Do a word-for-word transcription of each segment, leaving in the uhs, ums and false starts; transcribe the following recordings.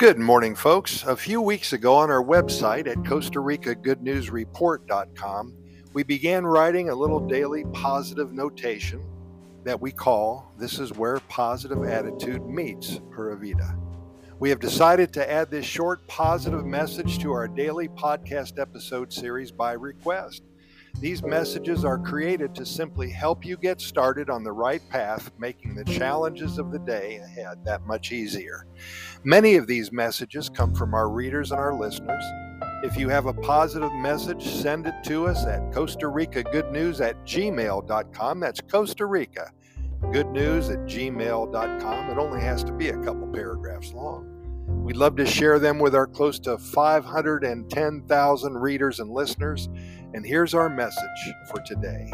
Good morning, folks. A few weeks ago on our website at Costa Rica Good News Report dot com, we began writing a little daily positive notation that we call This is Where Positive Attitude Meets Pura Vida. We have decided to add this short positive message to our daily podcast episode series by request. These messages are created to simply help you get started on the right path, making the challenges of the day ahead that much easier. Many of these messages come from our readers and our listeners. If you have a positive message, send it to us at Costa Rica Good News at gmail dot com. That's Costa Rica Good News at gmail dot com. It only has to be a couple paragraphs long. We'd love to share them with our close to five hundred ten thousand readers and listeners. And here's our message for today.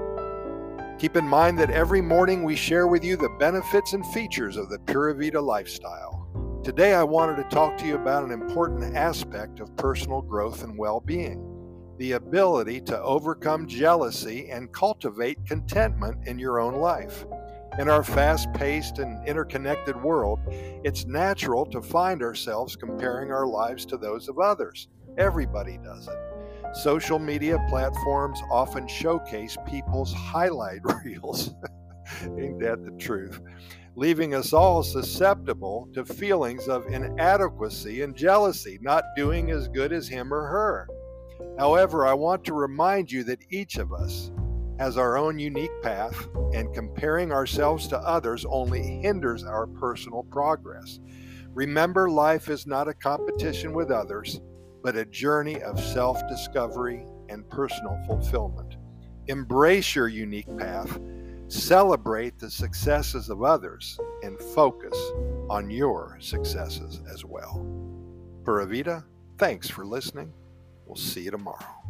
Keep in mind that every morning we share with you the benefits and features of the Pura Vida lifestyle. Today I wanted to talk to you about an important aspect of personal growth and well-being, the ability to overcome jealousy and cultivate contentment in your own life. In our fast-paced and interconnected world, it's natural to find ourselves comparing our lives to those of others. Everybody does it. Social media platforms often showcase people's highlight reels. Ain't that the truth? Leaving us all susceptible to feelings of inadequacy and jealousy, not doing as good as him or her. However, I want to remind you that each of us has our own unique path, and comparing ourselves to others only hinders our personal progress. Remember, life is not a competition with others, but a journey of self-discovery and personal fulfillment. Embrace your unique path, celebrate the successes of others, and focus on your successes as well. Pura Vida, thanks for listening. We'll see you tomorrow.